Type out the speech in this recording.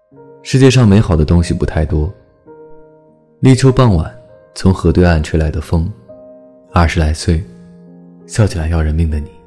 世界上美好的东西不太多。立秋傍晚，从河对岸吹来的风，20来岁，笑起来要人命的你。